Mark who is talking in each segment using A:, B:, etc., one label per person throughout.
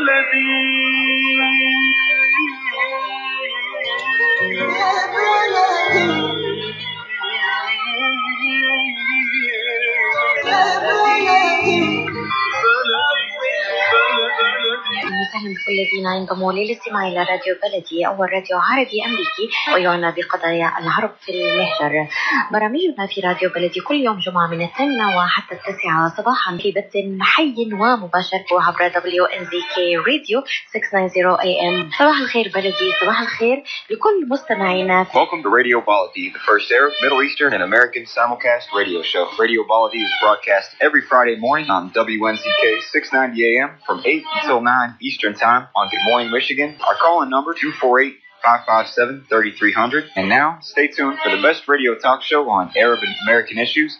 A: وسهلا بكل الذين ينضموا للاستماع إلى راديو بلدي، أول راديو عربي أمريكي ويعنى بقضايا العرب في المهجر. برامجنا في راديو بلدي كل يوم جمعة من 8 وحتى 9 صباحا في بث حي ومباشر عبر WNZK راديو 690 AM. صباح الخير بلدي، صباح الخير لكل مستمعينا.
B: Welcome to Radio Baladi, the first Arab, Middle Eastern, and American simulcast radio show. Radio Baladi is broadcast every Friday morning on WNZK 690 AM from 8 until 9 Eastern Time on Good Morning Michigan. Our call-in number 248-557-3300. And now, stay tuned for the best radio talk show on Arab and American issues.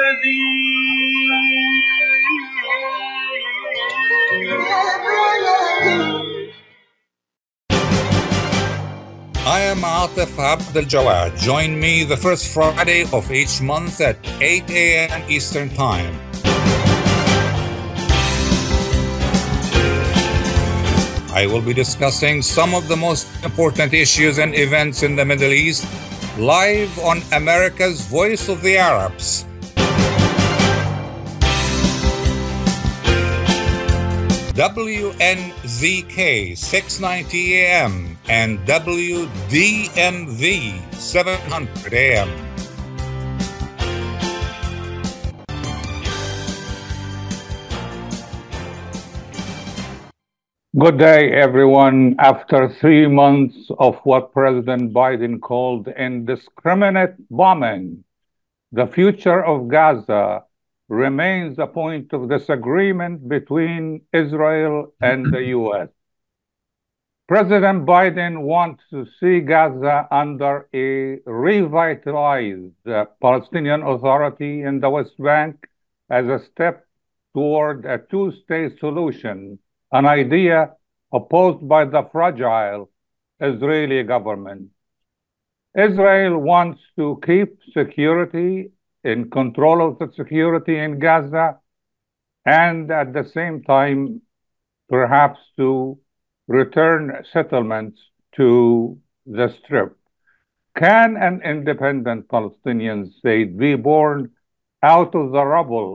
C: I am Atif Abdel Jawad. Join me the first Friday of each month at 8 a.m. Eastern Time. I will be discussing some of the most important issues and events in the Middle East live on America's Voice of the Arabs. WNZK 690 AM and WDMV 700 AM. Good day, everyone. After 3 months of what President Biden called indiscriminate bombing, the future of Gaza remains a point of disagreement between Israel and the U.S. President Biden wants to see Gaza under a revitalized Palestinian Authority in the West Bank as a step toward a two-state solution, an idea opposed by the fragile Israeli government. Israel wants to keep security in control of the security in Gaza and at the same time perhaps to return settlements to the Strip. Can an independent Palestinian state be born out of the rubble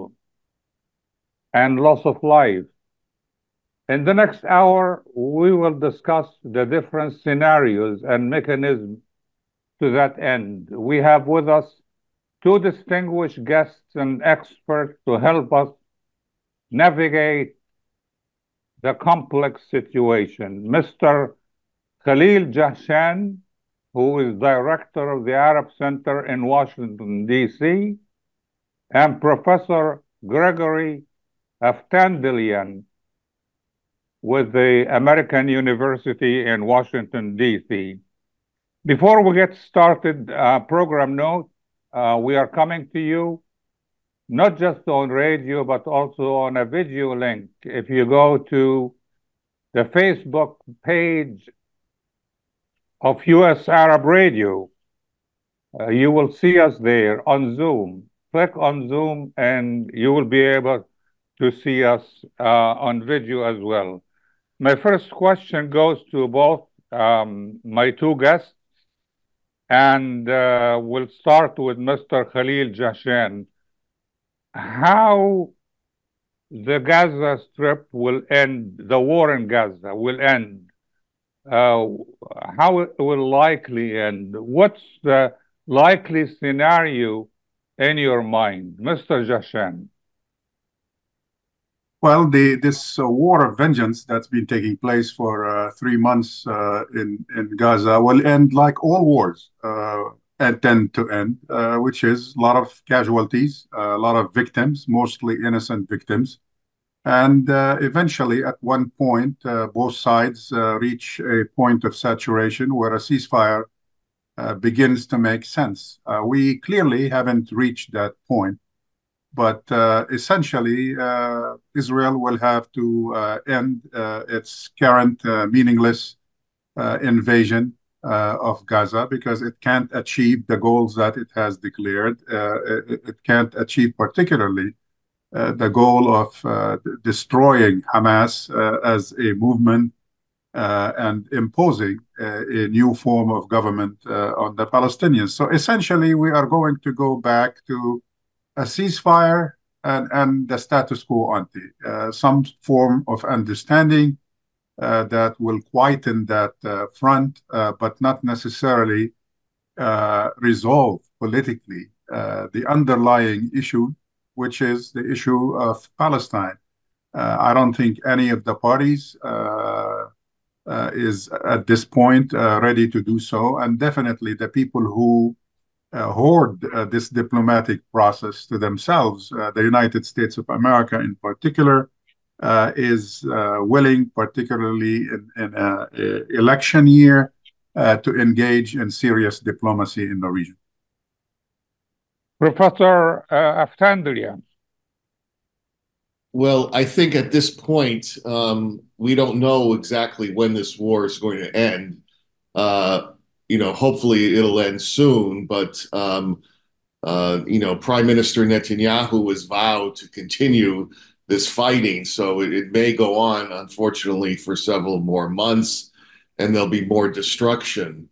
C: and loss of life? In the next hour, we will discuss the different scenarios and mechanisms to that end. We have with us two distinguished guests and experts to help us navigate the complex situation. Mr. Khalil Jahshan, who is director of the Arab Center in Washington, D.C., and Professor Gregory Aftandilian with the American University in Washington, D.C. Before we get started, program note, we are coming to you not just on radio, but also on a video link. If you go to the Facebook page of U.S. Arab Radio, you will see us there on Zoom. Click on Zoom and you will be able to see us on video as well. My first question goes to both my two guests, and we'll start with Mr. Khalil Jahshan. How the Gaza Strip will end, the war in Gaza will end, how it will likely end, what's the likely scenario in your mind? Mr. Jahshan.
D: Well, this war of vengeance that's been taking place for 3 months in Gaza will end like all wars tend to end, which is a lot of casualties, a lot of victims, mostly innocent victims. And eventually, at one point, both sides reach a point of saturation where a ceasefire begins to make sense. We clearly haven't reached that point. But essentially, Israel will have to end its current meaningless invasion of Gaza because it can't achieve the goals that it has declared. It can't achieve particularly the goal of destroying Hamas as a movement and imposing a new form of government on the Palestinians. So essentially, we are going to go back to a ceasefire and the status quo ante, some form of understanding that will quieten that front, but not necessarily resolve politically the underlying issue, which is the issue of Palestine. I don't think any of the parties is at this point ready to do so, and definitely the people who hoard this diplomatic process to themselves, the United States of America in particular, is willing, particularly in an election year, to engage in serious diplomacy in the region.
C: Professor Aftandria.
E: Well, I think at this point, we don't know exactly when this war is going to end. Hopefully it'll end soon, but Prime Minister Netanyahu has vowed to continue this fighting, so it may go on, unfortunately, for several more months, and there'll be more destruction.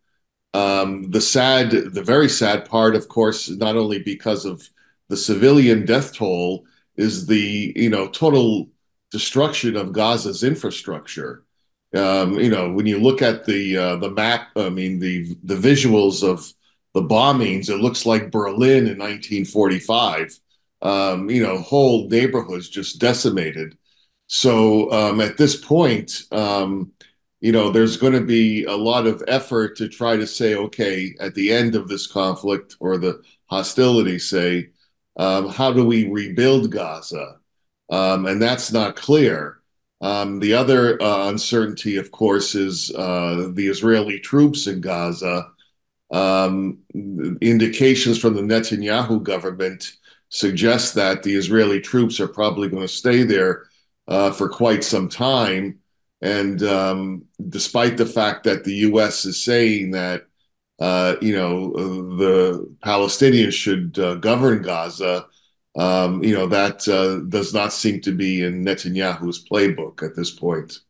E: The very sad part, of course, not only because of the civilian death toll, is the total destruction of Gaza's infrastructure. When you look at the map, the visuals of the bombings, it looks like Berlin in 1945. Whole neighborhoods just decimated. So at this point, there's going to be a lot of effort to try to say, okay, at the end of this conflict or the hostility, say, how do we rebuild Gaza? And that's not clear. The other uncertainty, of course, is the Israeli troops in Gaza. Indications from the Netanyahu government suggest that the Israeli troops are probably going to stay there for quite some time. And despite the fact that the U.S. is saying that, the Palestinians should govern Gaza, that does not seem to be in Netanyahu's playbook at this point.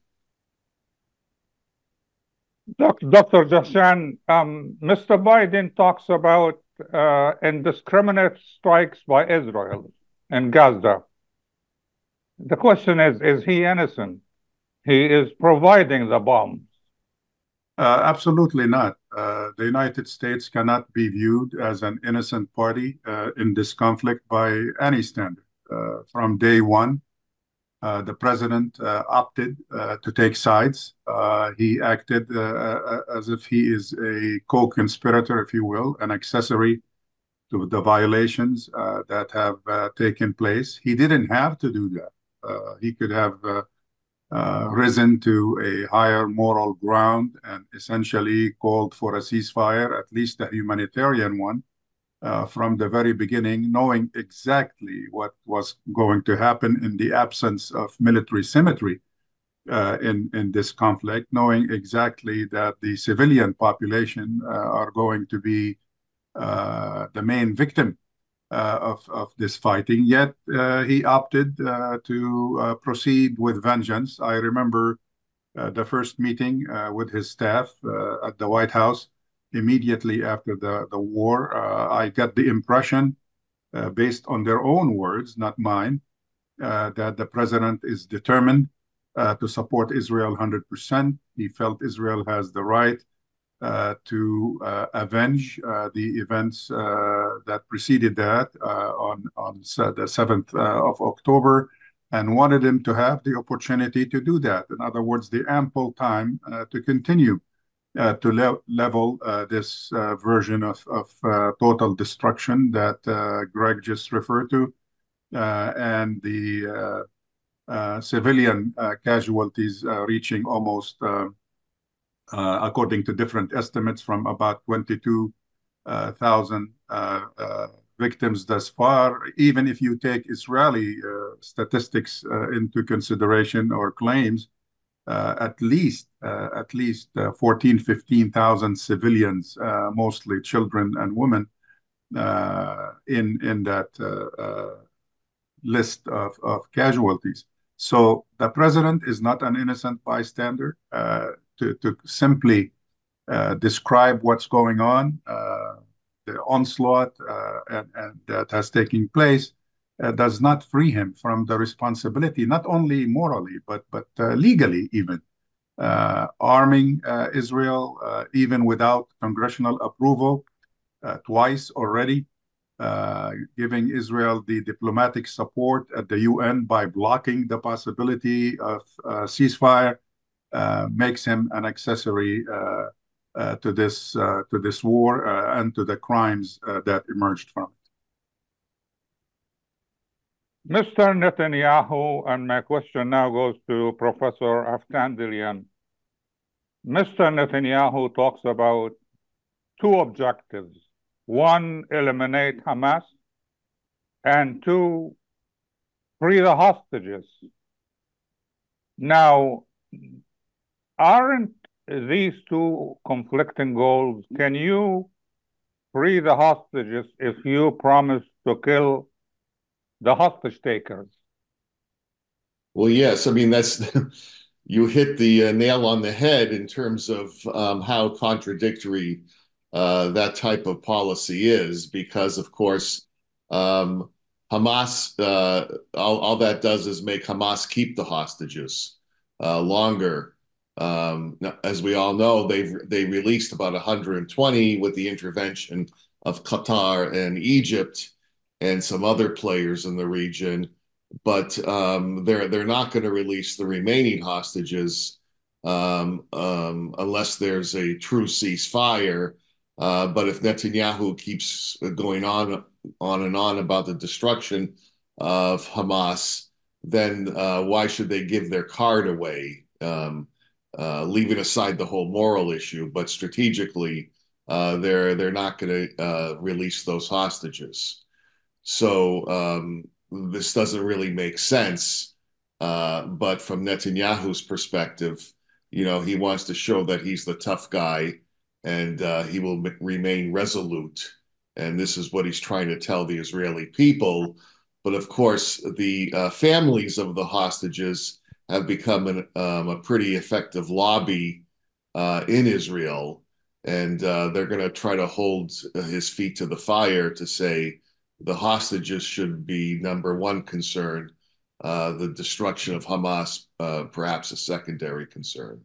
C: Dr. Jashan, Mr. Biden talks about indiscriminate strikes by Israel in Gaza. The question is he innocent? He is providing the bombs.
D: Absolutely not. The United States cannot be viewed as an innocent party in this conflict by any standard. From day one, the president opted to take sides. He acted as if he is a co-conspirator, if you will, an accessory to the violations that have taken place. He didn't have to do that. He could have risen to a higher moral ground and essentially called for a ceasefire, at least a humanitarian one, from the very beginning, knowing exactly what was going to happen in the absence of military symmetry in this conflict, knowing exactly that the civilian population are going to be the main victim of this fighting. Yet he opted to proceed with vengeance. I remember the first meeting with his staff at the White House immediately after the war. I got the impression, based on their own words, not mine, that the president is determined to support Israel 100%. He felt Israel has the right to avenge the events that preceded that on the 7th of October, and wanted him to have the opportunity to do that. In other words, the ample time to continue to level this version of total destruction that Greg just referred to, and the civilian casualties reaching almost according to different estimates, from about 22,000 victims thus far. Even if you take Israeli statistics into consideration or claims, at least 14,000, 15,000 civilians, mostly children and women, in that list of casualties. So the president is not an innocent bystander. To simply describe what's going on, the onslaught and that has taken place, does not free him from the responsibility, not only morally, but legally even. Arming Israel, even without congressional approval, twice already, giving Israel the diplomatic support at the UN by blocking the possibility of ceasefire, makes him an accessory to this war and to the crimes that emerged from it.
C: Mr. Netanyahu, and my question now goes to Professor Aftandilian. Mr. Netanyahu talks about two objectives. One, eliminate Hamas, and two, free the hostages. Now, aren't these two conflicting goals? Can you free the hostages if you promise to kill the hostage takers?
E: Well, yes. I mean, that's you hit the nail on the head in terms of how contradictory that type of policy is, because, of course, Hamas, all that does is make Hamas keep the hostages longer. As we all know, they released about 120 with the intervention of Qatar and Egypt and some other players in the region, but they're not going to release the remaining hostages unless there's a true ceasefire. But if Netanyahu keeps going on and on about the destruction of Hamas, then why should they give their card away? Leaving aside the whole moral issue, but strategically, they're not going to release those hostages. So this doesn't really make sense. But from Netanyahu's perspective, he wants to show that he's the tough guy, and he will remain resolute. And this is what he's trying to tell the Israeli people. But of course, the families of the hostages have become a pretty effective lobby in Israel. And they're going to try to hold his feet to the fire to say the hostages should be number one concern, the destruction of Hamas, perhaps a secondary concern.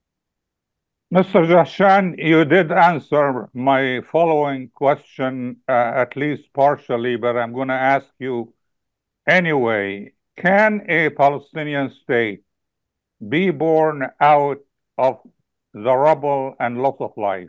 C: Mr. Jahshan, you did answer my following question, at least partially, but I'm going to ask you anyway. Can a Palestinian state be born out of the rubble and loss of life?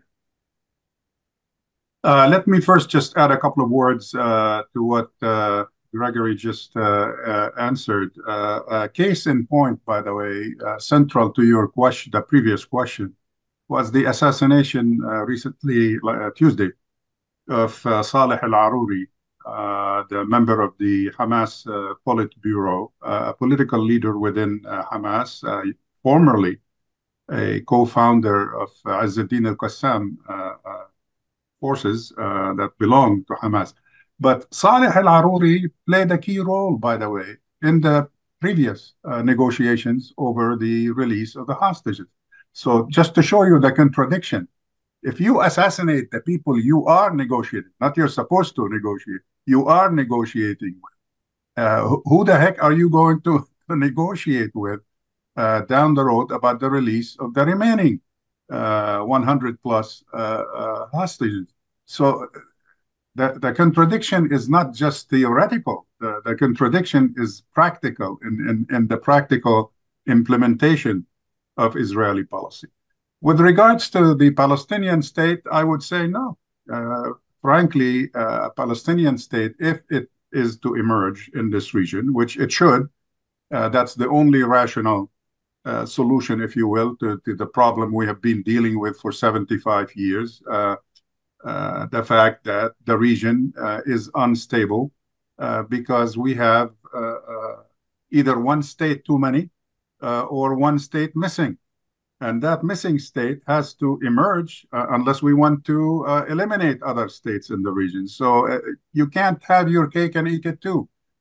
D: Let me first just add a couple of words to what Gregory just answered. Case in point, by the way, central to your question, the previous question, was the assassination recently, Tuesday, of Saleh al-Aruri, the member of the Hamas Politburo, a political leader within Hamas, formerly a co-founder of Izz-ad-Din al-Qassam forces that belong to Hamas. But Saleh al-Aruri played a key role, by the way, in the previous negotiations over the release of the hostages. So just to show you the contradiction, if you assassinate the people you are negotiating, not you're supposed to negotiate, you are negotiating with, who the heck are you going to negotiate with down the road about the release of the remaining 100 plus hostages? So the contradiction is not just theoretical. The contradiction is practical in the practical implementation of Israeli policy. With regards to the Palestinian state, I would say no. Frankly, a Palestinian state, if it is to emerge in this region, which it should, that's the only rational solution, if you will, to the problem we have been dealing with for 75 years. The fact that the region is unstable because we have either one state too many or one state missing. And that missing state has to emerge unless we want to eliminate other states in the region. So you can't have your cake and eat it too.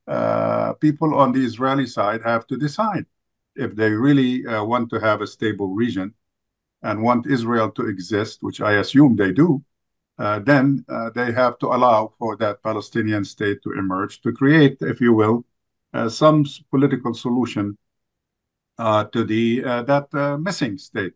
D: people on the Israeli side have to decide if they really want to have a stable region and want Israel to exist, which I assume they do. Then they have to allow for that Palestinian state to emerge, to create, if you will, some political solution to the that missing state,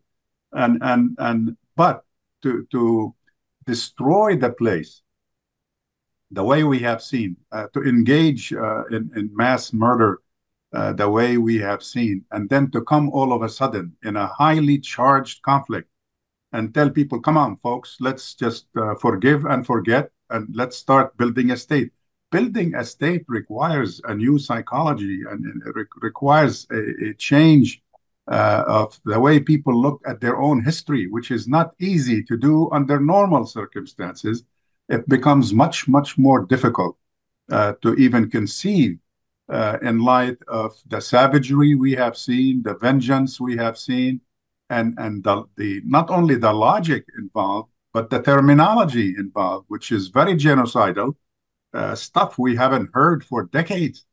D: but to destroy the place the way we have seen, to engage in mass murder the way we have seen, and then to come all of a sudden in a highly charged conflict and tell people, come on, folks, let's just forgive and forget, and let's start building a state. Building a state requires a new psychology, and it requires a change of the way people look at their own history, which is not easy to do under normal circumstances. It becomes much, much more difficult to even conceive in light of the savagery we have seen, the vengeance we have seen, and the not only the logic involved, but the terminology involved, which is very genocidal, stuff we haven't heard for decades.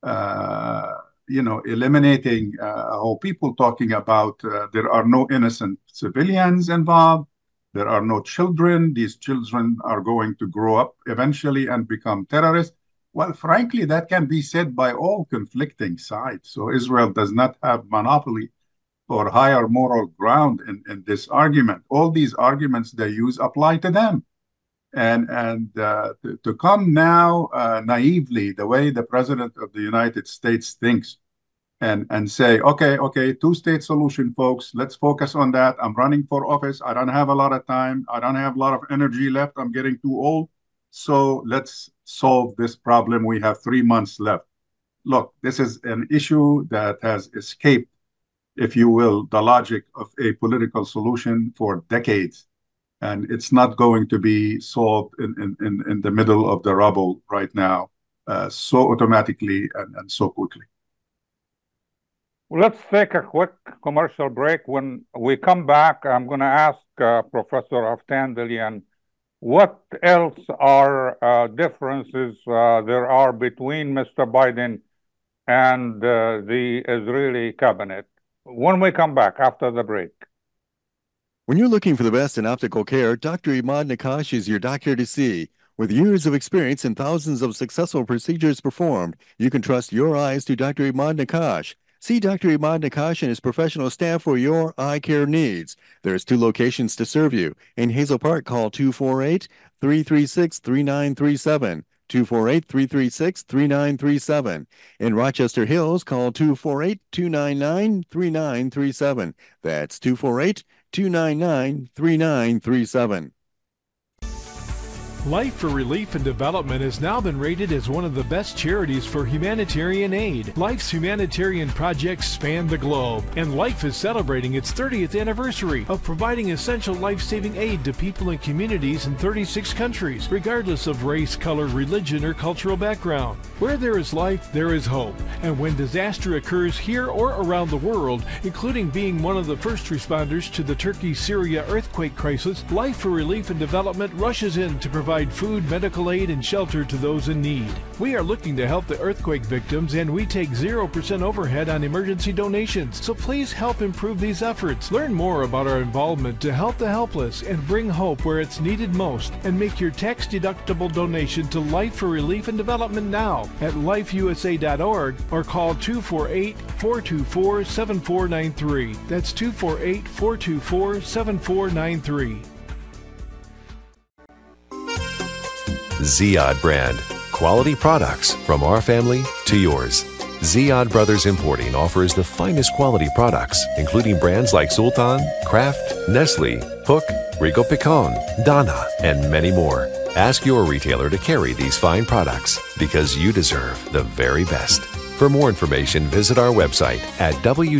D: Eliminating whole people, talking about there are no innocent civilians involved, there are no children, these children are going to grow up eventually and become terrorists. Well, frankly, that can be said by all conflicting sides. So Israel does not have monopoly or higher moral ground in this argument. All these arguments they use apply to them. And to come now naively, the way the President of the United States thinks, and say, okay, two-state solution, folks, let's focus on that. I'm running for office. I don't have a lot of time. I don't have a lot of energy left. I'm getting too old. So let's solve this problem. We have 3 months left. Look, this is an issue that has escaped, if you will, the logic of a political solution for decades. And it's not going to be solved in the middle of the rubble right now, so automatically and so quickly.
C: Well, let's take a quick commercial break. When we come back, I'm going to ask Professor Aftandilian what else are differences there are between Mr. Biden and the Israeli cabinet when we come back after the break.
F: When you're looking for the best in optical care, Dr. Imad Nakash is your doctor to see. With years of experience and thousands of successful procedures performed, you can trust your eyes to Dr. Imad Nakash. See Dr. Imad Nakash and his professional staff for your eye care needs. There's 2 locations to serve you. In Hazel Park, call 248-336-3937. 248-336-3937. In Rochester Hills, call 248-299-3937. That's 248-299-3937.
G: Life for Relief and Development has now been rated as one of the best charities for humanitarian aid. Life's humanitarian projects span the globe, and Life is celebrating its 30th anniversary of providing essential life-saving aid to people and communities in 36 countries, regardless of race, color, religion, or cultural background. Where there is life, there is hope. And when disaster occurs here or around the world, including being one of the first responders to the Turkey-Syria earthquake crisis, Life for Relief and Development rushes in to provide food, medical aid, and shelter to those in need. We are looking to help the earthquake victims, and we take 0% overhead on emergency donations. So please help improve these efforts. Learn more about our involvement to help the helpless and bring hope where it's needed most, and make your tax-deductible donation to Life for Relief and Development now at lifeusa.org or call 248-424-7493. That's 248-424-7493.
H: Ziyad brand. Quality products from our family to yours. Ziyad Brothers Importing offers the finest quality products, including brands like Sultan, Kraft, Nestle, Hook, Rico Picon, Donna, and many more. Ask your retailer to carry these fine products because you deserve the very best. For more information, visit our website at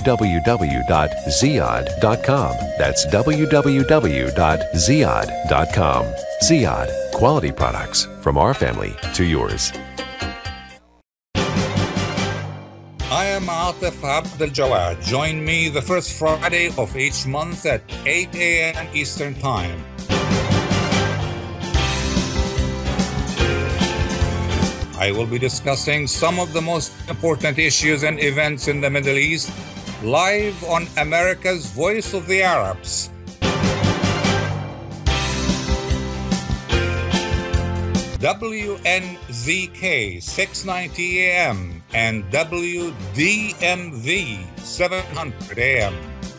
H: www.ziyad.com. That's www.ziyad.com. Ziyad, quality products from our family to yours.
I: I am Atif Abdel Jawad. Join me the first Friday of each month at 8 a.m. Eastern Time. I will be discussing some of the most important issues and events in the Middle East live on America's Voice of the Arabs. WNZK 690 AM and WDMV 700 AM.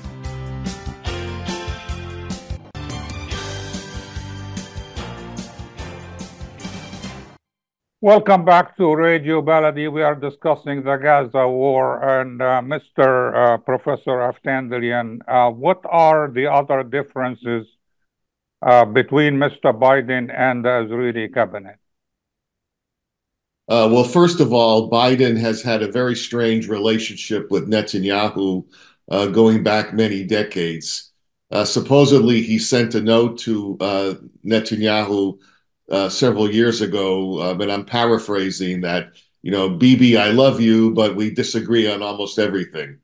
C: Welcome back to Radio Baladi. We are discussing the Gaza war, and Mr. Professor Aftandilian, what are the other differences between Mr. Biden and the Israeli cabinet?
E: Well, first of all, Biden has had a very strange relationship with Netanyahu going back many decades. Supposedly, he sent a note to Netanyahu several years ago, and I'm paraphrasing that, Bibi, I love you, but we disagree on almost everything.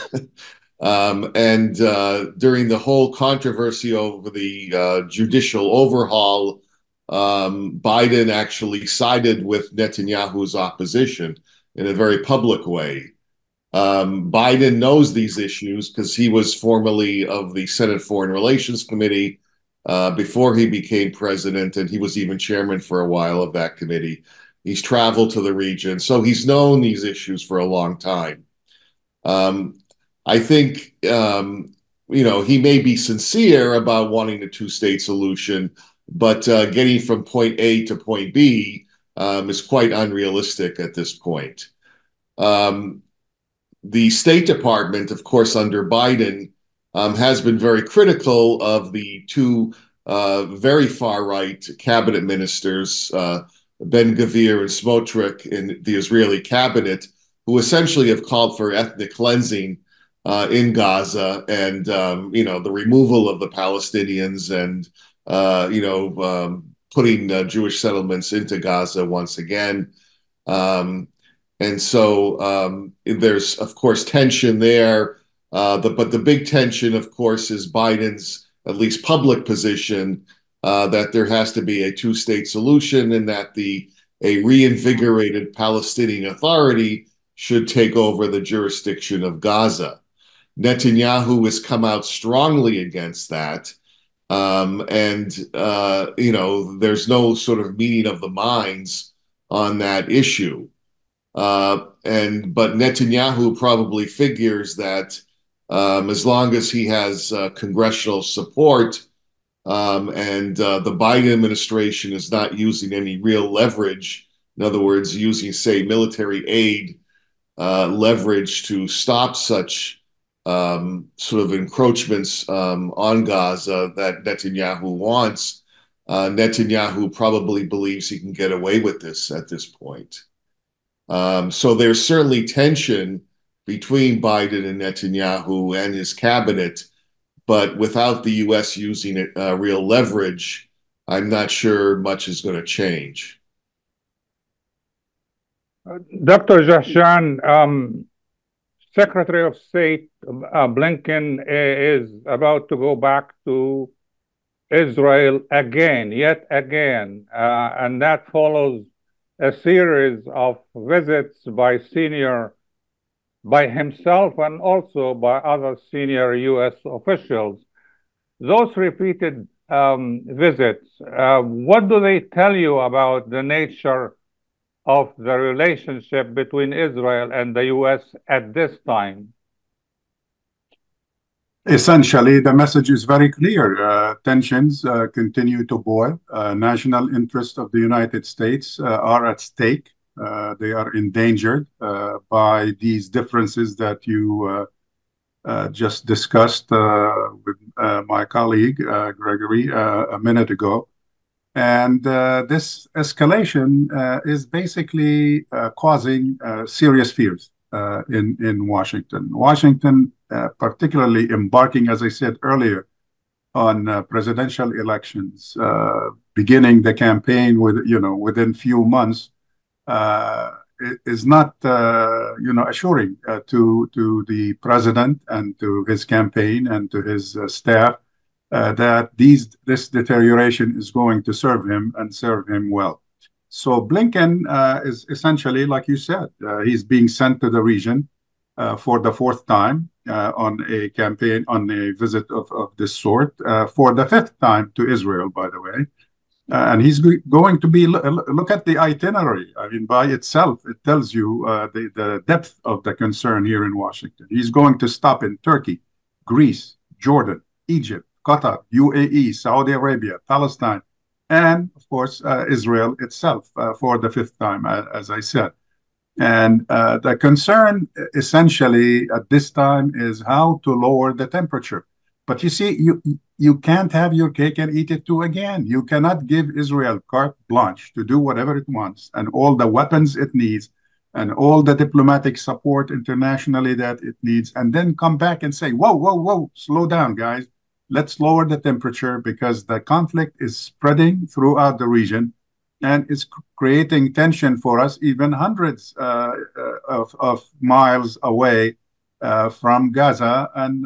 E: And during the whole controversy over the judicial overhaul, Biden actually sided with Netanyahu's opposition in a very public way. Biden knows these issues because he was formerly of the Senate Foreign Relations Committee before he became president, and he was even chairman for a while of that committee. He's traveled to the region, so he's known these issues for a long time. I think, he may be sincere about wanting a two-state solution, but getting from point A to point B is quite unrealistic at this point. The State Department, of course, under Biden, has been very critical of the two very far-right cabinet ministers, Ben-Gvir and Smotrich, in the Israeli cabinet, who essentially have called for ethnic cleansing in Gaza and, the removal of the Palestinians and, putting Jewish settlements into Gaza once again. And so there's, of course, tension there. But the big tension, of course, is Biden's at least public position that there has to be a two-state solution and that a reinvigorated Palestinian Authority should take over the jurisdiction of Gaza. Netanyahu has come out strongly against that. There's no sort of meeting of the minds on that issue. But Netanyahu probably figures that as long as he has congressional support and the Biden administration is not using any real leverage, in other words, using, say, military aid leverage to stop such sort of encroachments on Gaza that Netanyahu wants, Netanyahu probably believes he can get away with this at this point. So there's certainly tension between Biden and Netanyahu and his cabinet, but without the U.S. using real leverage, I'm not sure much is going to change.
C: Dr. Jahshan, Secretary of State Blinken is about to go back to Israel yet again, and that follows a series of visits by himself and also by other senior U.S. officials. Those repeated visits, what do they tell you about the nature of the relationship between Israel and the U.S. at this time?
D: Essentially, the message is very clear. Tensions continue to boil. National interests of the United States are at stake. They are endangered by these differences that you just discussed with my colleague, Gregory, a minute ago. And this escalation is basically causing serious fears in Washington. Washington, particularly embarking, as I said earlier, on presidential elections, beginning the campaign within few months, is not assuring to the president and to his campaign and to his staff that this deterioration is going to serve him and serve him well. So Blinken is essentially, like you said, he's being sent to the region for the fourth time on a campaign, on a visit of this sort, for the fifth time to Israel, by the way. And he's going to be, look at the itinerary. I mean, by itself, it tells you the depth of the concern here in Washington. He's going to stop in Turkey, Greece, Jordan, Egypt, Qatar, UAE, Saudi Arabia, Palestine, and of course, Israel itself for the fifth time, as I said. And the concern essentially at this time is how to lower the temperature. But you see, you can't have your cake and eat it too again. You cannot give Israel carte blanche to do whatever it wants and all the weapons it needs and all the diplomatic support internationally that it needs, and then come back and say, whoa, whoa, whoa, slow down, guys. Let's lower the temperature because the conflict is spreading throughout the region and it's creating tension for us, even hundreds of miles away from Gaza, and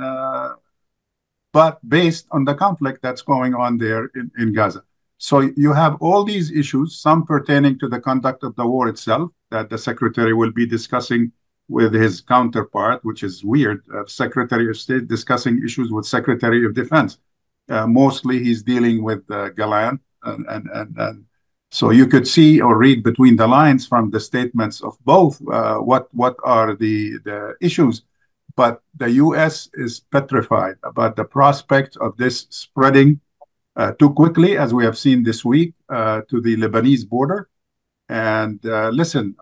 D: but based on the conflict that's going on there in Gaza. So you have all these issues, some pertaining to the conduct of the war itself, that the secretary will be discussing with his counterpart, which is weird, Secretary of State discussing issues with Secretary of Defense. Mostly he's dealing with Gallant, and so you could see or read between the lines from the statements of both what are the issues. But the U.S. is petrified about the prospect of this spreading too quickly, as we have seen this week, to the Lebanese border. And listen,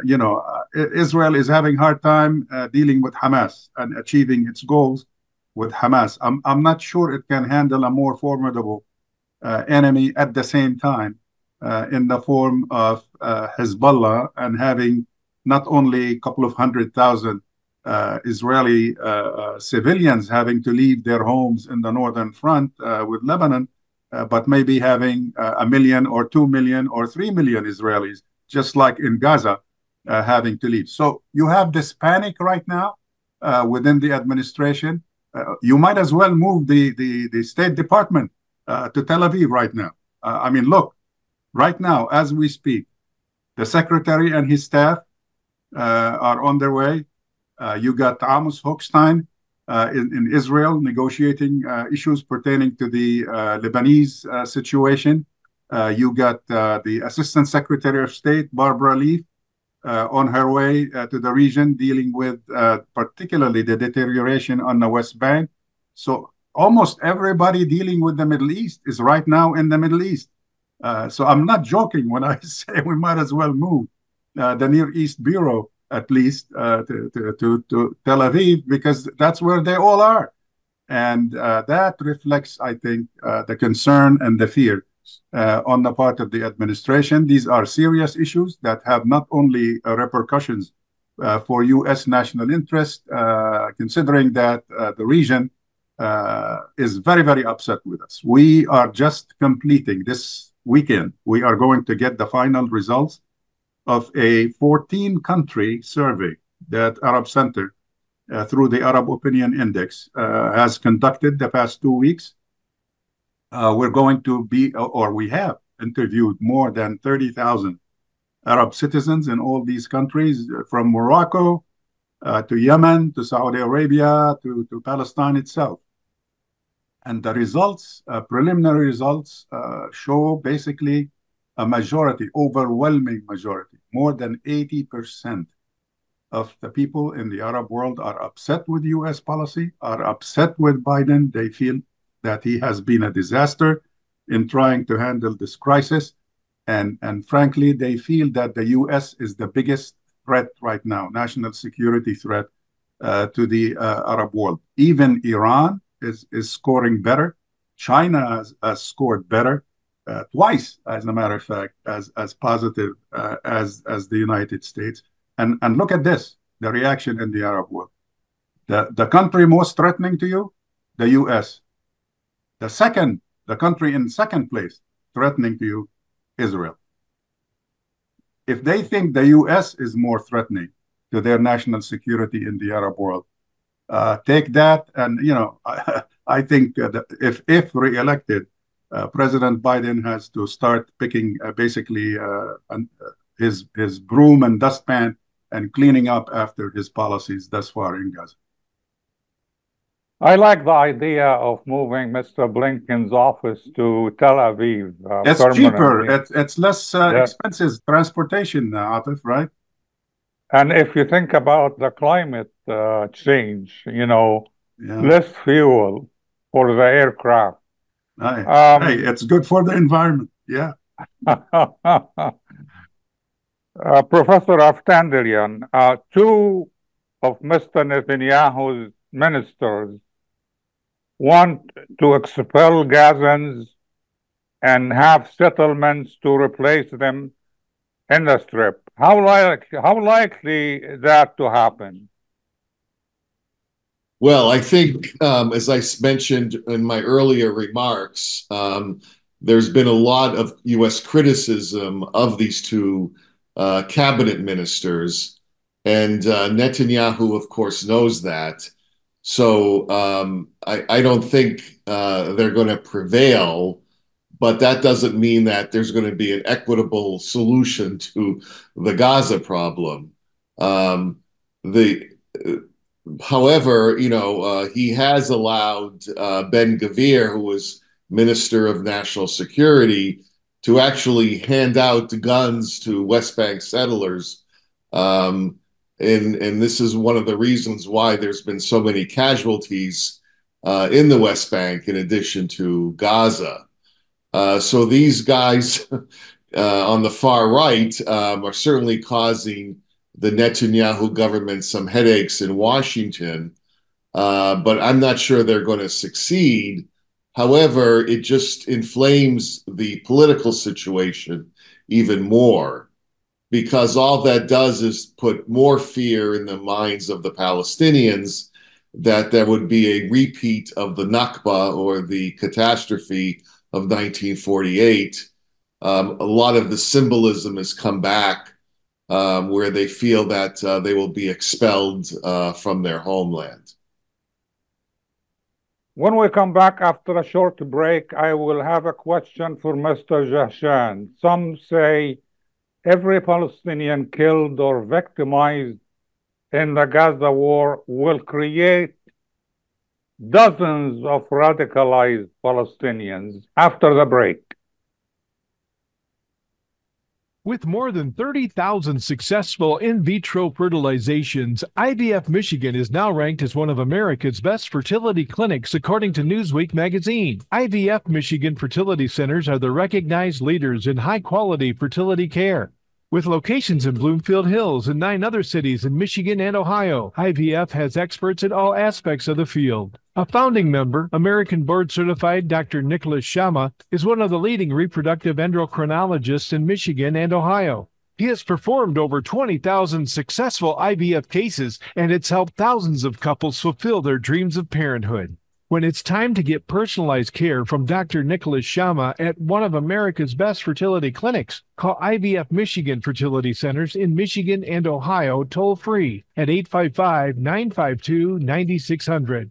D: Israel is having a hard time dealing with Hamas and achieving its goals with Hamas. I'm not sure it can handle a more formidable enemy at the same time in the form of Hezbollah, and having not only a couple of 100,000 Israeli civilians having to leave their homes in the northern front with Lebanon, but maybe having 1 million or 2 million or 3 million Israelis, just like in Gaza, having to leave. So you have this panic right now within the administration. You might as well move the State Department to Tel Aviv right now. I mean, look, right now, as we speak, the secretary and his staff are on their way. You got Amos Hochstein in Israel negotiating issues pertaining to the Lebanese situation. You got the Assistant Secretary of State, Barbara Leaf, on her way to the region, dealing with particularly the deterioration on the West Bank. So almost everybody dealing with the Middle East is right now in the Middle East. So I'm not joking when I say we might as well move the Near East Bureau at least to Tel Aviv, because that's where they all are. And that reflects, I think, the concern and the fear on the part of the administration. These are serious issues that have not only repercussions for U.S. national interest, considering that the region is very, very upset with us. We are just completing this weekend. We are going to get the final results of a 14-country survey that Arab Center, through the Arab Opinion Index, has conducted the past 2 weeks. We're going to be, or we have interviewed more than 30,000 Arab citizens in all these countries, from Morocco to Yemen to Saudi Arabia to Palestine itself. And the results, preliminary results, show basically a majority, overwhelming majority, more than 80% of the people in the Arab world are upset with U.S. policy, are upset with Biden. They feel that he has been a disaster in trying to handle this crisis. And frankly, they feel that the U.S. is the biggest threat right now, national security threat to the Arab world. Even Iran is scoring better. China has scored better. Twice, as a matter of fact, as positive as the United States. And look at this, the reaction in the Arab world. The country most threatening to you, the U.S. The country in second place threatening to you, Israel. If they think the U.S. is more threatening to their national security in the Arab world, take that, and I think that if re-elected, President Biden has to start picking basically his broom and dustpan and cleaning up after his policies thus far in Gaza.
C: I like the idea of moving Mr. Blinken's office to Tel Aviv.
D: It's cheaper.
C: permanently.
D: It's less
C: Yeah.
D: expensive transportation, Atif, right?
C: And if you think about the climate change,
D: Yeah.
C: less fuel for the aircraft.
D: Hey, it's good for the environment. Yeah.
C: Professor Aftandarian, two of Mr. Netanyahu's ministers want to expel Gazans and have settlements to replace them in the Strip. How likely that to happen?
E: Well, I think, as I mentioned in my earlier remarks, there's been a lot of U.S. criticism of these two cabinet ministers, and Netanyahu, of course, knows that. So I don't think they're going to prevail, but that doesn't mean that there's going to be an equitable solution to the Gaza problem. However, he has allowed Ben-Gvir, who was Minister of National Security, to actually hand out guns to West Bank settlers. And this is one of the reasons why there's been so many casualties in the West Bank, in addition to Gaza. So these guys on the far right are certainly causing the Netanyahu government some headaches in Washington, but I'm not sure they're going to succeed. However, it just inflames the political situation even more, because all that does is put more fear in the minds of the Palestinians that there would be a repeat of the Nakba, or the catastrophe of 1948. A lot of the symbolism has come back, where they feel that they will be expelled from their homeland.
C: When we come back after a short break, I will have a question for Mr. Jahshan. Some say every Palestinian killed or victimized in the Gaza war will create dozens of radicalized Palestinians. After the break.
G: With more than 30,000 successful in vitro fertilizations, IVF Michigan is now ranked as one of America's best fertility clinics, according to Newsweek magazine. IVF Michigan fertility centers are the recognized leaders in high-quality fertility care. With locations in Bloomfield Hills and 9 other cities in Michigan and Ohio, IVF has experts in all aspects of the field. A founding member, American board-certified Dr. Nicholas Shama, is one of the leading reproductive endocrinologists in Michigan and Ohio. He has performed over 20,000 successful IVF cases, and it's helped thousands of couples fulfill their dreams of parenthood. When it's time to get personalized care from Dr. Nicholas Shama at one of America's best fertility clinics, call IVF Michigan Fertility Centers in Michigan and Ohio toll-free at 855-952-9600.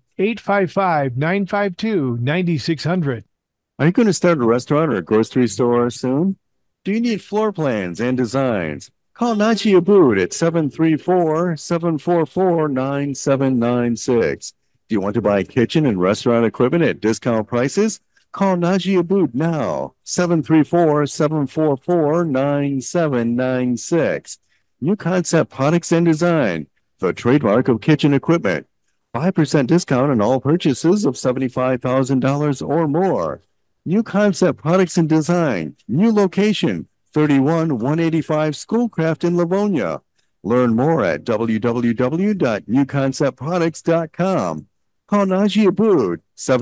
G: 855-952-9600.
F: Are you going to start a restaurant or a grocery store soon? Do you need floor plans and designs? Call Najee Abood at 734-744-9796. Do you want to buy kitchen and restaurant equipment at discount prices? Call Najee Abood now, 734-744-9796. New Concept Products and Design, the trademark of kitchen equipment. 5% discount on all purchases of $75,000 or more. New Concept Products and Design, new location, 31185 Schoolcraft in Livonia. Learn more at www.newconceptproducts.com. Call Najee Abood,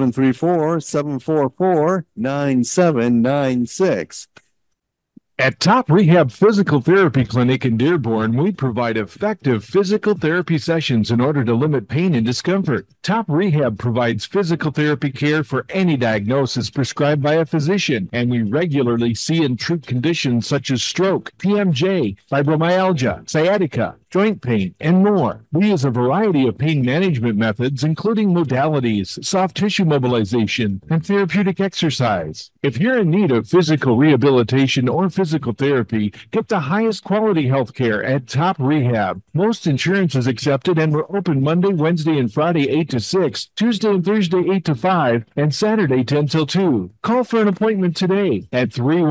F: 734-744-9796.
G: At Top Rehab Physical Therapy Clinic in Dearborn, we provide effective physical therapy sessions in order to limit pain and discomfort. Top Rehab provides physical therapy care for any diagnosis prescribed by a physician, and we regularly see and treat conditions such as stroke, TMJ, fibromyalgia, sciatica, joint pain, and more. We use a variety of pain management methods, including modalities, soft tissue mobilization, and therapeutic exercise. If you're in need of physical rehabilitation or physical therapy, get the highest quality health care at Top Rehab. Most insurance is accepted, and we're open Monday, Wednesday, and Friday 8 to 6, Tuesday and Thursday 8 to 5, and Saturday 10 till 2. Call for an appointment today at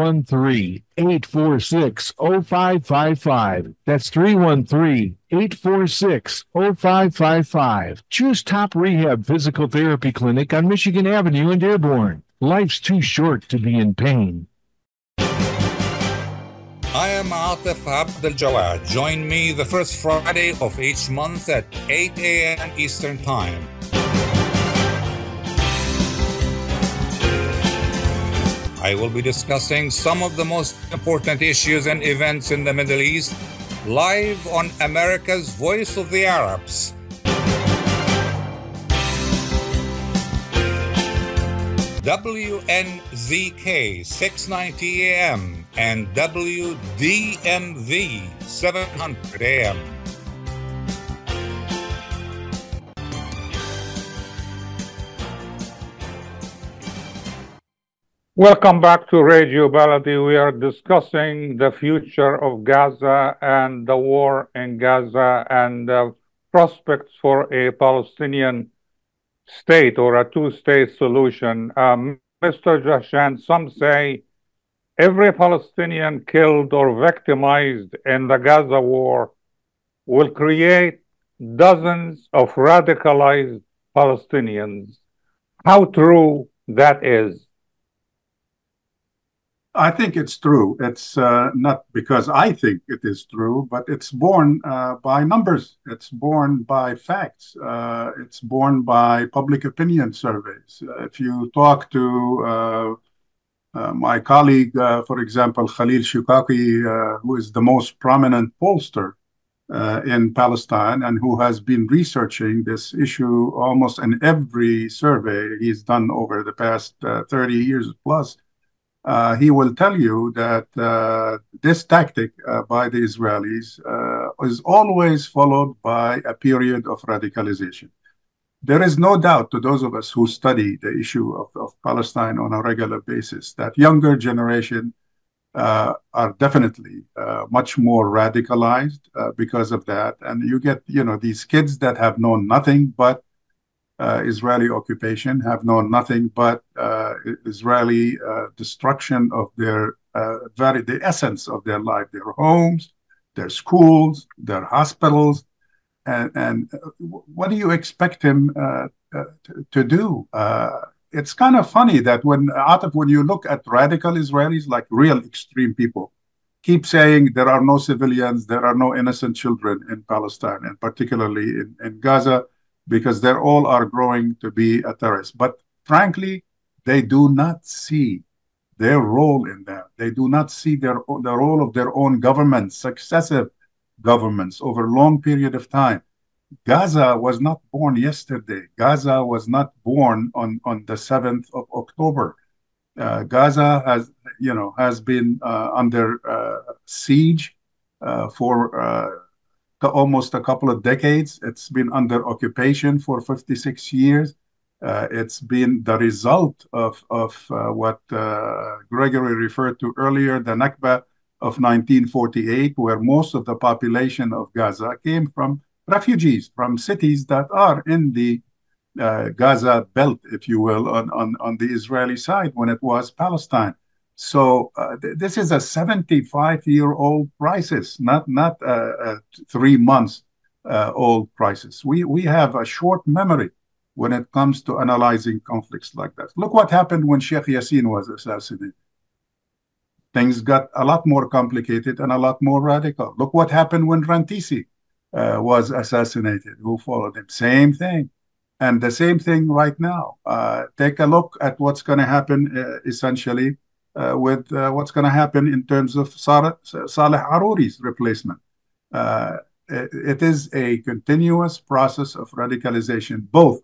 G: 313-846-0555. That's 313-846-0555. Choose Top Rehab Physical Therapy Clinic on Michigan Avenue in Dearborn. Life's too short to be in pain.
I: I am Atif Abdel Jawad. Join me the first Friday of each month at 8 a.m. Eastern Time. I will be discussing some of the most important issues and events in the Middle East live on America's Voice of the Arabs. WNZK 690 AM and WDMV 700 AM.
C: Welcome back to Radio Baladi. We are discussing the future of Gaza and the war in Gaza and the prospects for a Palestinian state or a two-state solution. Mr. Jashan, some say every Palestinian killed or victimized in the Gaza war will create dozens of radicalized Palestinians. How true that is?
D: I think it's true. It's not because I think it is true, but it's born by numbers. It's born by facts. It's born by public opinion surveys. If you talk to my colleague, for example, Khalil Shukaki, who is the most prominent pollster in Palestine and who has been researching this issue almost in every survey he's done over the past 30 years plus, he will tell you that this tactic by the Israelis is always followed by a period of radicalization. There is no doubt to those of us who study the issue of Palestine on a regular basis that younger generation are definitely much more radicalized because of that. And you get, these kids that have known nothing but Israeli occupation, have known nothing but Israeli destruction of their the essence of their life, their homes, their schools, their hospitals, and what do you expect him to do? It's kind of funny that when you look at radical Israelis, like real extreme people, keep saying there are no civilians, there are no innocent children in Palestine, and particularly in Gaza, because they all are growing to be a terrorist. But frankly, they do not see their role in that. They do not see the role of their own governments, successive governments over a long period of time. Gaza was not born yesterday. Gaza was not born on the 7th of October. Gaza has been under siege for almost a couple of decades. It's been under occupation for 56 years. It's been the result of what Gregory referred to earlier, the Nakba of 1948, where most of the population of Gaza came from refugees from cities that are in the Gaza belt, if you will, on the Israeli side when it was Palestine. So this is a 75-year-old crisis, not a 3 months old crisis. We have a short memory when it comes to analyzing conflicts like that. Look what happened when Sheikh Yassin was assassinated. Things got a lot more complicated and a lot more radical. Look what happened when Rantisi was assassinated. Who followed him? Same thing. And the same thing right now. Take a look at what's going to happen essentially with what's going to happen in terms of Saleh Harouri's replacement. It is a continuous process of radicalization, both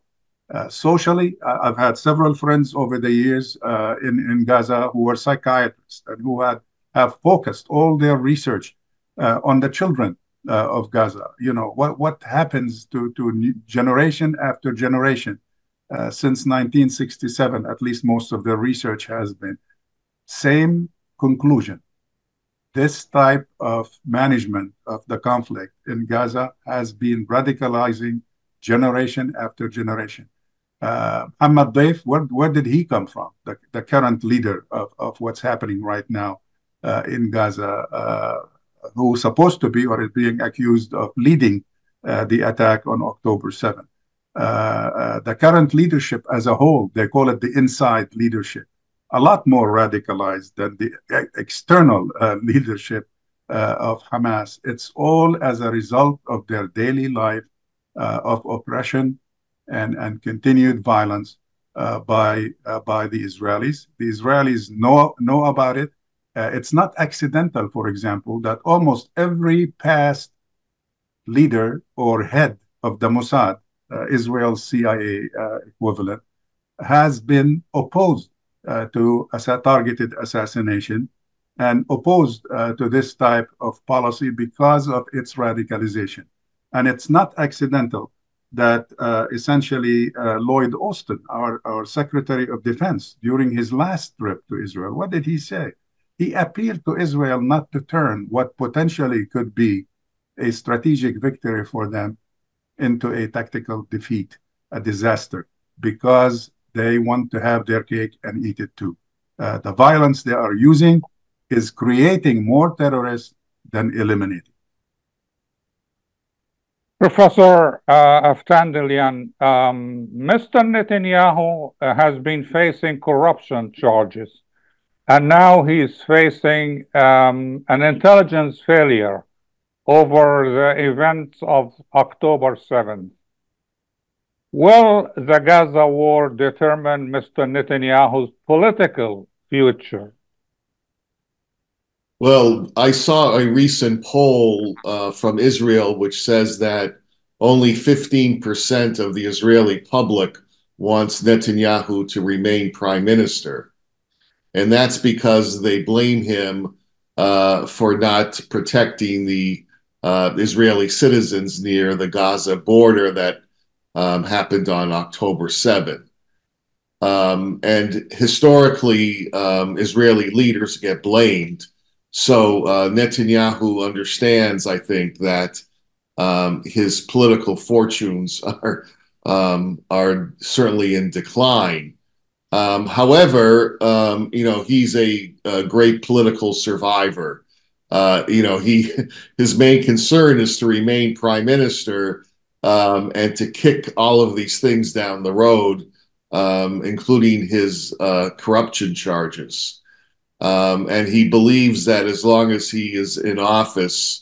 D: Socially, I've had several friends over the years in Gaza who were psychiatrists and who have focused all their research on the children of Gaza. You know, what happens to generation after generation since 1967, at least most of the research has been. Same conclusion. This type of management of the conflict in Gaza has been radicalizing generation after generation. Ahmad Daif, where did he come from? The current leader of what's happening right now in Gaza, who's supposed to be or is being accused of leading the attack on October 7th. The current leadership as a whole, they call it the inside leadership, a lot more radicalized than the external leadership of Hamas. It's all as a result of their daily life of oppression and continued violence by the Israelis. The Israelis know about it. It's not accidental, for example, that almost every past leader or head of the Mossad, Israel's CIA equivalent, has been opposed to targeted assassination and opposed to this type of policy because of its radicalization. And it's not accidental that essentially Lloyd Austin, our Secretary of Defense, during his last trip to Israel, what did he say? He appealed to Israel not to turn what potentially could be a strategic victory for them into a tactical defeat, a disaster, because they want to have their cake and eat it too. The violence they are using is creating more terrorists than eliminating.
C: Professor Aftandilian, Mr. Netanyahu has been facing corruption charges, and now he's facing an intelligence failure over the events of October 7th. Will the Gaza war determine Mr. Netanyahu's political future?
E: Well, I saw a recent poll from Israel which says that only 15% of the Israeli public wants Netanyahu to remain prime minister. And that's because they blame him for not protecting the Israeli citizens near the Gaza border that happened on October 7th. And historically, Israeli leaders get blamed. So Netanyahu understands, I think, that his political fortunes are certainly in decline. However, he's a great political survivor. His main concern is to remain prime minister and to kick all of these things down the road, including his corruption charges. And he believes that as long as he is in office,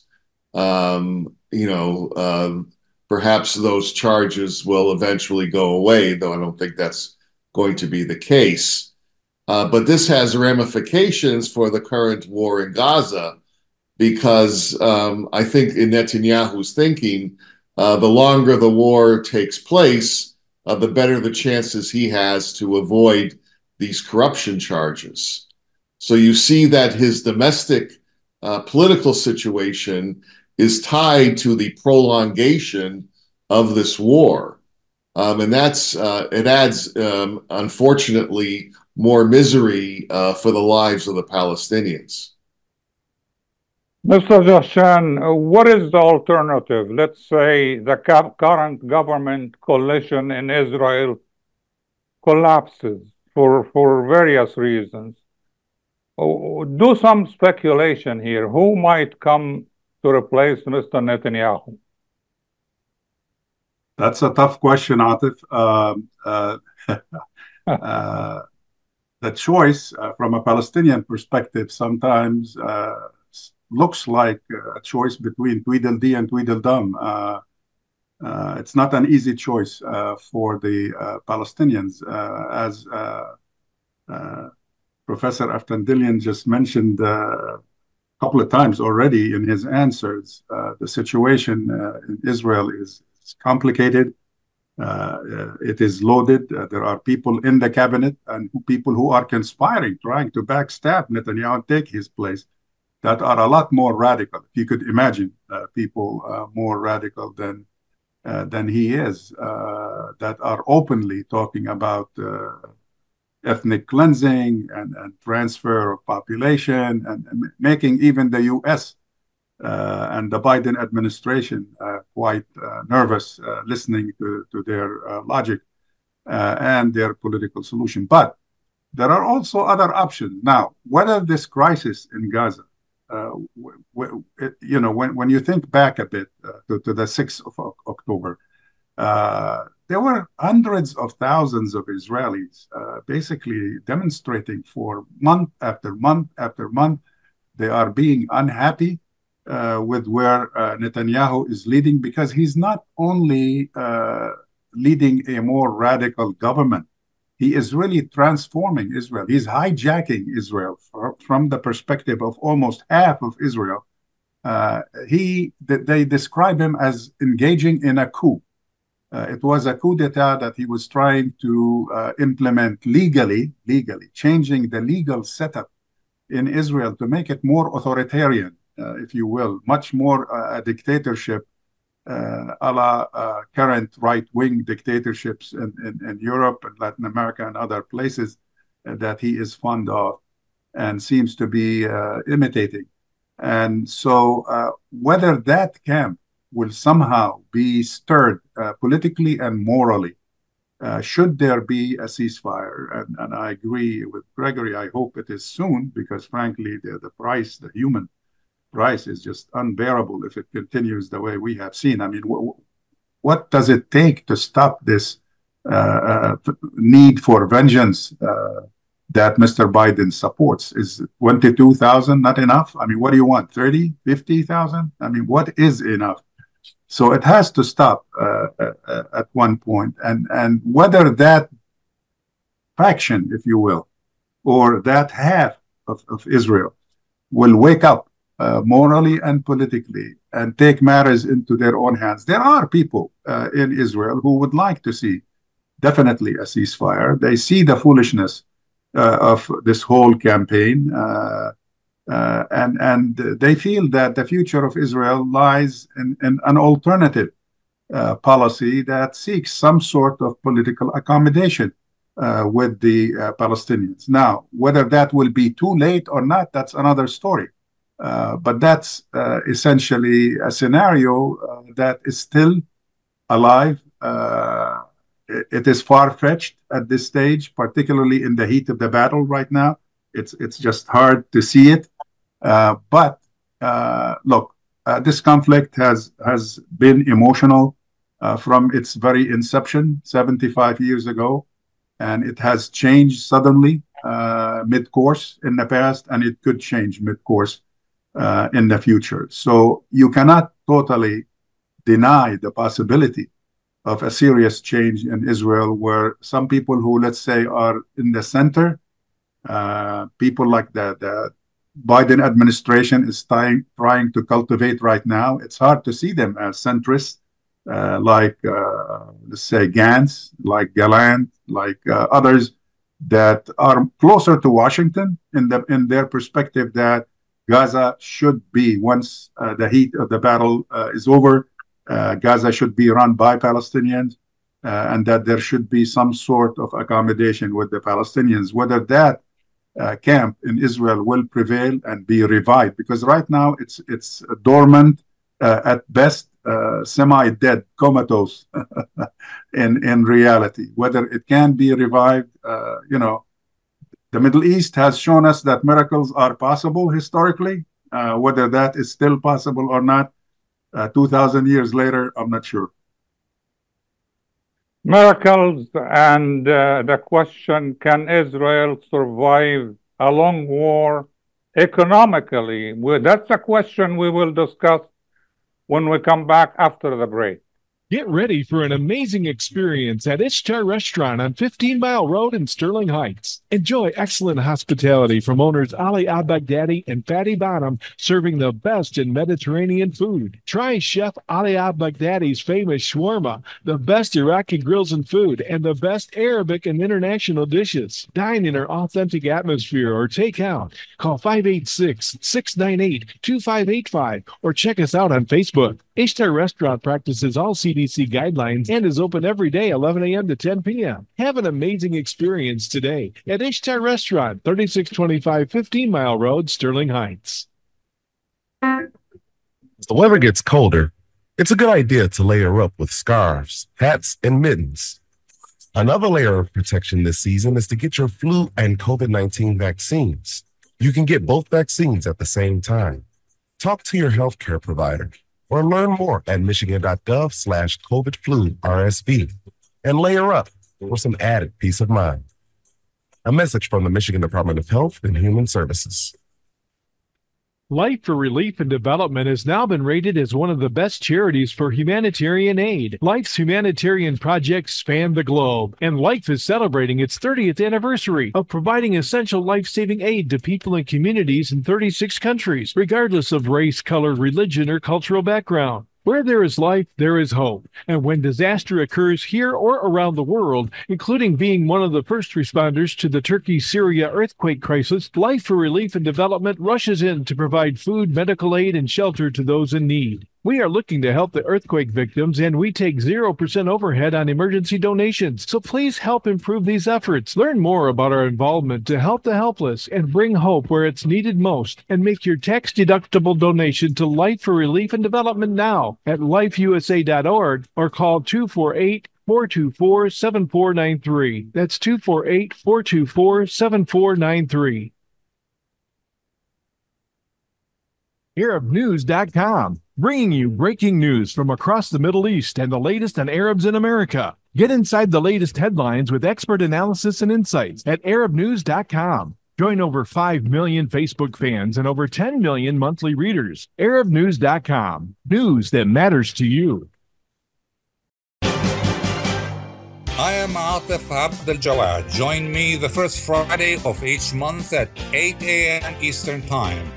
E: perhaps those charges will eventually go away, though I don't think that's going to be the case. But this has ramifications for the current war in Gaza, because I think in Netanyahu's thinking, the longer the war takes place, the better the chances he has to avoid these corruption charges. So you see that his domestic political situation is tied to the prolongation of this war. And it adds, unfortunately, more misery for the lives of the Palestinians.
C: Mr. Jahshan, what is the alternative? Let's say the current government coalition in Israel collapses for various reasons. Do some speculation here. Who might come to replace Mr. Netanyahu?
D: That's a tough question, Atif. The choice from a Palestinian perspective sometimes looks like a choice between Tweedledee and Tweedledum. It's not an easy choice for the Palestinians. As Professor Aftandilian just mentioned a couple of times already in his answers, the situation in Israel is complicated. It is loaded. There are people in the cabinet and people who are conspiring, trying to backstab Netanyahu and take his place, that are a lot more radical. If you could imagine people more radical than he is, that are openly talking about ethnic cleansing and transfer of population and making even the U.S. And the Biden administration quite nervous listening to their logic and their political solution. But there are also other options. Now, whether this crisis in Gaza, when you think back a bit to the 6th of October, there were hundreds of thousands of Israelis basically demonstrating for month after month after month. They are being unhappy with where Netanyahu is leading, because he's not only leading a more radical government, he is really transforming Israel. He's hijacking Israel from the perspective of almost half of Israel. They describe him as engaging in a coup. It was a coup d'etat that he was trying to implement legally, changing the legal setup in Israel to make it more authoritarian, if you will, much more a dictatorship, a la current right-wing dictatorships in Europe and Latin America and other places that he is fond of and seems to be imitating. And so whether that camp will somehow be stirred politically and morally, should there be a ceasefire, and I agree with Gregory, I hope it is soon, because frankly, the price, the human price is just unbearable if it continues the way we have seen. I mean, what does it take to stop this need for vengeance that Mr. Biden supports? Is 22,000 not enough? I mean, what do you want, 30, 50,000? I mean, what is enough? So it has to stop at one point. And whether that faction, if you will, or that half of Israel will wake up morally and politically and take matters into their own hands. There are people in Israel who would like to see definitely a ceasefire. They see the foolishness of this whole campaign, and they feel that the future of Israel lies in an alternative policy that seeks some sort of political accommodation with the Palestinians. Now, whether that will be too late or not, that's another story. But that's essentially a scenario that is still alive. It is far-fetched at this stage, particularly in the heat of the battle right now. It's just hard to see it. But look, this conflict has been emotional from its very inception 75 years ago, and it has changed suddenly mid-course in the past, and it could change mid-course in the future. So you cannot totally deny the possibility of a serious change in Israel, where some people who, let's say, are in the center, people like the Biden administration is trying to cultivate right now. It's hard to see them as centrists, like, let's say, Gantz, like Gallant, like others that are closer to Washington in their perspective that Gaza should be, once the heat of the battle is over, Gaza should be run by Palestinians, and that there should be some sort of accommodation with the Palestinians. Whether that camp in Israel will prevail and be revived, because right now it's dormant, at best, semi-dead, comatose in reality. Whether it can be revived, the Middle East has shown us that miracles are possible historically. Whether that is still possible or not, 2,000 years later, I'm not sure.
C: Miracles, and the question, can Israel survive a long war economically? That's a question we will discuss when we come back after the break.
G: Get ready for an amazing experience at Ishtar Restaurant on 15 Mile Road in Sterling Heights. Enjoy excellent hospitality from owners Ali Al-Baghdadi and Fatty Bonham, serving the best in Mediterranean food. Try Chef Ali Al-Baghdadi's famous shawarma, the best Iraqi grills and food, and the best Arabic and international dishes. Dine in our authentic atmosphere or take out. Call 586-698-2585 or check us out on Facebook. Ishtar Restaurant practices all CDC guidelines and is open every day 11 a.m. to 10 p.m. Have an amazing experience today at Ishtar Restaurant, 3625 15 Mile Road, Sterling Heights.
J: As the weather gets colder, it's a good idea to layer up with scarves, hats, and mittens. Another layer of protection this season is to get your flu and COVID-19 vaccines. You can get both vaccines at the same time. Talk to your healthcare provider or learn more at michigan.gov/COVID-flu-RSV and layer up for some added peace of mind. A message from the Michigan Department of Health and Human Services.
G: Life for Relief and Development has now been rated as one of the best charities for humanitarian aid. Life's humanitarian projects span the globe, and Life is celebrating its 30th anniversary of providing essential life-saving aid to people and communities in 36 countries, regardless of race, color, religion, or cultural background. Where there is life, there is hope. And when disaster occurs here or around the world, including being one of the first responders to the Turkey-Syria earthquake crisis, Life for Relief and Development rushes in to provide food, medical aid, and shelter to those in need. We are looking to help the earthquake victims, and we take 0% overhead on emergency donations. So please help improve these efforts. Learn more about our involvement to help the helpless and bring hope where it's needed most. And make your tax-deductible donation to Life for Relief and Development now at lifeusa.org or call 248-424-7493. That's 248-424-7493. ArabNews.com, bringing you breaking news from across the Middle East and the latest on Arabs in America. Get inside the latest headlines with expert analysis and insights at ArabNews.com. Join over 5 million Facebook fans and over 10 million monthly readers. ArabNews.com, news that matters to you.
I: I am Atif Abdel Jawad. Join me the first Friday of each month at 8 a.m. Eastern Time.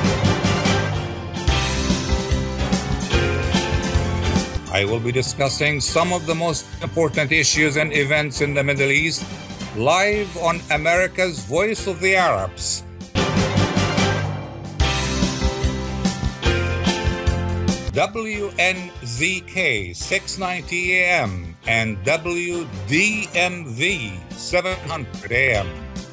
I: I will be discussing some of the most important issues and events in the Middle East live on America's Voice of the Arabs. WNZK 690 AM and WDMV 700 AM.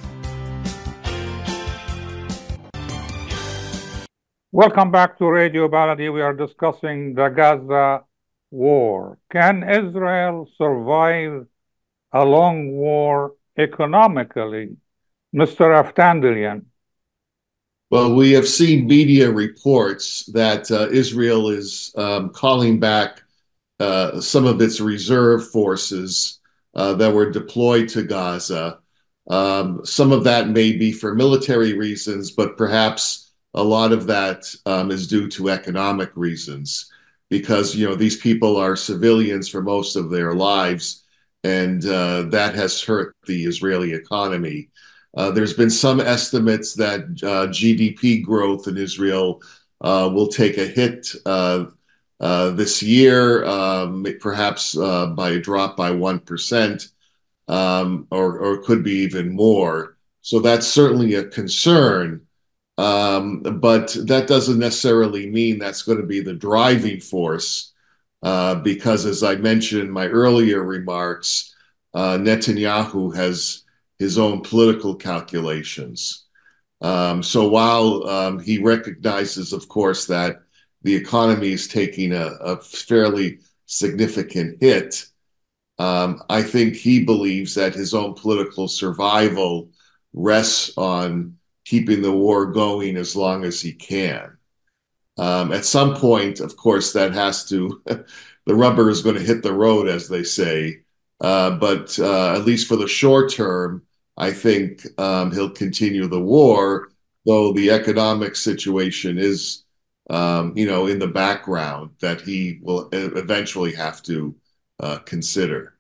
C: Welcome back to Radio Baladi. We are discussing the Gaza war. Can Israel survive a long war economically? Mr. Aftandilian.
E: Well, we have seen media reports that Israel is calling back some of its reserve forces that were deployed to Gaza. Some of that may be for military reasons, but perhaps a lot of that is due to economic reasons, because these people are civilians for most of their lives, and that has hurt the Israeli economy. There's been some estimates that GDP growth in Israel will take a hit this year, perhaps by a drop by 1%, or could be even more. So that's certainly a concern. But that doesn't necessarily mean that's going to be the driving force, because as I mentioned in my earlier remarks, Netanyahu has his own political calculations. So while he recognizes, of course, that the economy is taking a fairly significant hit, I think he believes that his own political survival rests on keeping the war going as long as he can. At some point, of course, that has to, the rubber is going to hit the road, as they say. But at least for the short term, I think he'll continue the war, though the economic situation is in the background that he will eventually have to consider.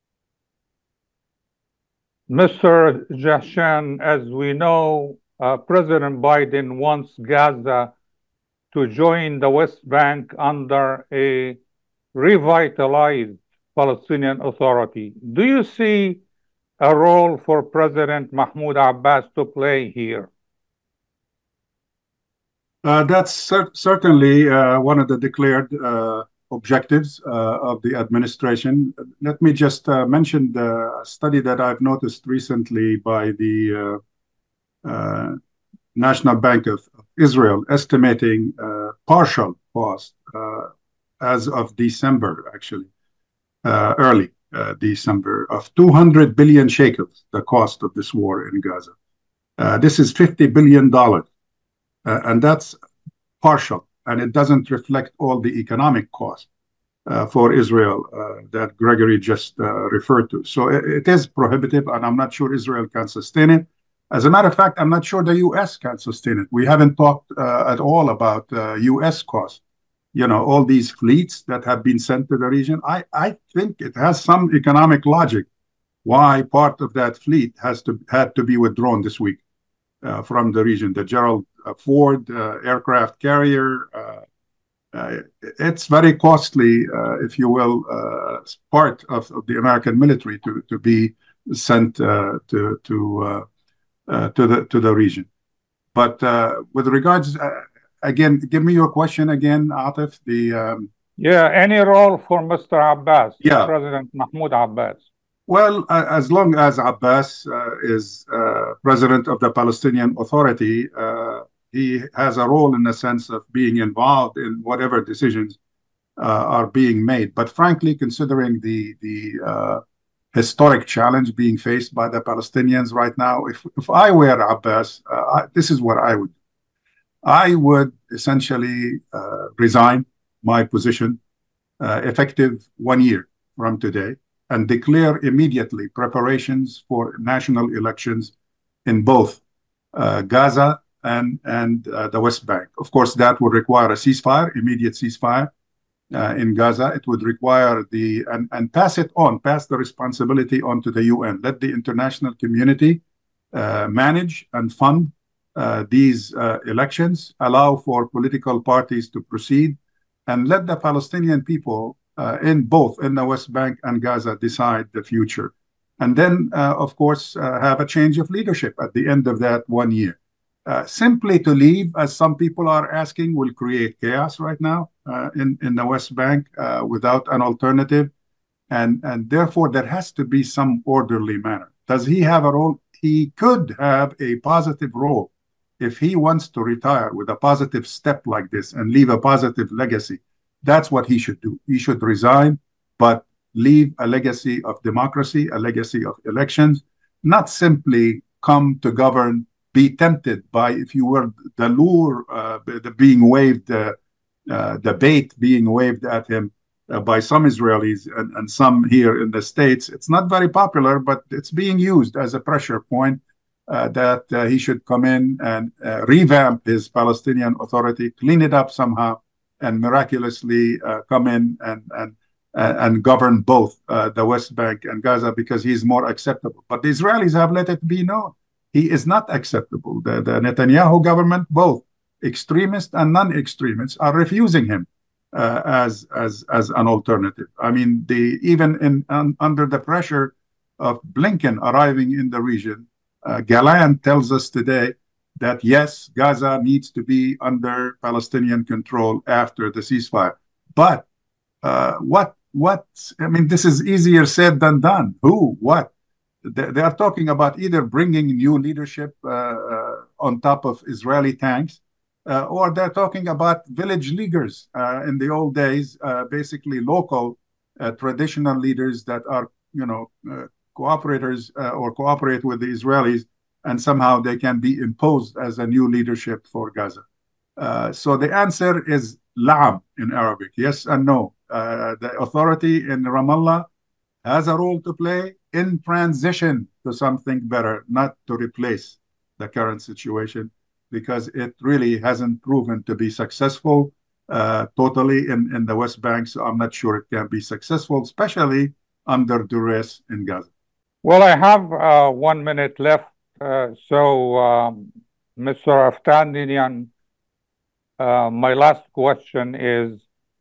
C: Mr. Jahshan, as we know, President Biden wants Gaza to join the West Bank under a revitalized Palestinian Authority. Do you see a role for President Mahmoud Abbas to play here?
D: That's certainly one of the declared objectives of the administration. Let me just mention the study that I've noticed recently by the National Bank of Israel, estimating partial cost as of December, actually, early December, of 200 billion shekels, the cost of this war in Gaza. This is $50 billion. And that's partial, and it doesn't reflect all the economic cost for Israel that Gregory just referred to. So it is prohibitive, and I'm not sure Israel can sustain it. As a matter of fact, I'm not sure the U.S. can sustain it. We haven't talked at all about U.S. costs. All these fleets that have been sent to the region. I think it has some economic logic why part of that fleet had to be withdrawn this week from the region. The Gerald Ford aircraft carrier. It's very costly, if you will, part of the American military to be sent to the region. But with regards, again, give me your question again, Atif.
C: Any role for Mr. Abbas,
D: yeah.
C: President Mahmoud Abbas?
D: Well, as long as Abbas is president of the Palestinian Authority, he has a role in the sense of being involved in whatever decisions are being made. But frankly, considering the historic challenge being faced by the Palestinians right now, if I were Abbas, this is what I would do. I would essentially resign my position effective 1 year from today and declare immediately preparations for national elections in both Gaza and the West Bank. Of course, that would require a ceasefire, immediate ceasefire in Gaza. It would require and pass the responsibility on to the UN. Let the international community manage and fund these elections, allow for political parties to proceed, and let the Palestinian people in the West Bank and Gaza decide the future. And then, of course, have a change of leadership at the end of that 1 year. Simply to leave, as some people are asking, will create chaos right now in the West Bank without an alternative. And therefore, there has to be some orderly manner. Does he have a role? He could have a positive role if he wants to retire with a positive step like this and leave a positive legacy. That's what he should do. He should resign, but leave a legacy of democracy, a legacy of elections, not simply come to govern, be tempted by, if you were, the lure, being waved, the bait being waved at him by some Israelis and some here in the States. It's not very popular, but it's being used as a pressure point that he should come in and revamp his Palestinian Authority, clean it up somehow, and miraculously come in and govern both the West Bank and Gaza because he's more acceptable. But the Israelis have let it be known. He is not acceptable. The Netanyahu government, both extremists and non-extremists, are refusing him as an alternative. I mean, even under the pressure of Blinken arriving in the region, Gallant tells us today that yes, Gaza needs to be under Palestinian control after the ceasefire. But what? I mean, this is easier said than done. Who? What? They are talking about either bringing new leadership on top of Israeli tanks, or they're talking about village leaguers in the old days, basically local traditional leaders that are, cooperators or cooperate with the Israelis, and somehow they can be imposed as a new leadership for Gaza. So the answer is la'am in Arabic, yes and no. The authority in Ramallah has a role to play in transition to something better, not to replace the current situation. because it really hasn't proven to be successful totally in the West Bank. So I'm not sure it can be successful, especially under duress in Gaza.
C: Well, I have 1 minute left. Mr. Aftandinian, my last question is,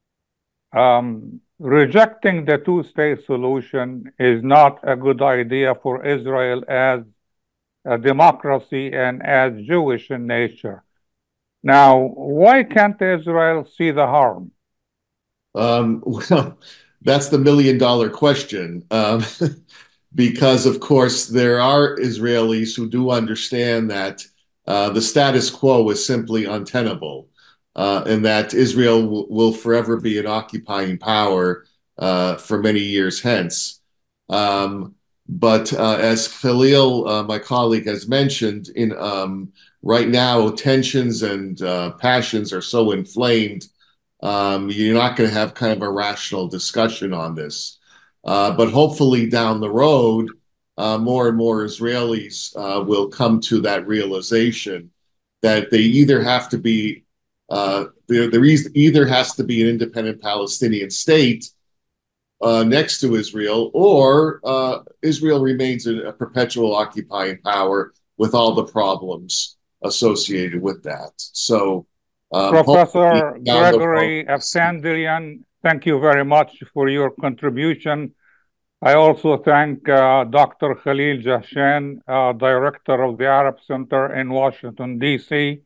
C: rejecting the two-state solution is not a good idea for Israel as a democracy and as Jewish in nature. Now, why can't Israel see the harm?
E: Well, that's the million-dollar question. Because, of course, there are Israelis who do understand that the status quo is simply untenable, and that Israel will forever be an occupying power for many years hence. But as Khalil, my colleague, has mentioned, right now tensions and passions are so inflamed, you're not going to have kind of a rational discussion on this. But hopefully down the road, more and more Israelis will come to that realization that they either have to be, there either has to be an independent Palestinian state next to Israel, or Israel remains a perpetual occupying power with all the problems associated with that. So,
C: Professor Gregory Aftandinian, thank you very much for your contribution. I also thank Dr. Khalil Jahshan, Director of the Arab Center in Washington, D.C.,